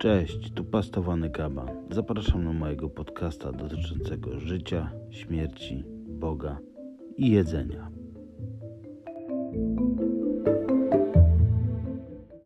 Cześć, tu Pastowany Kaban. Zapraszam na mojego podcasta dotyczącego życia, śmierci, Boga i jedzenia.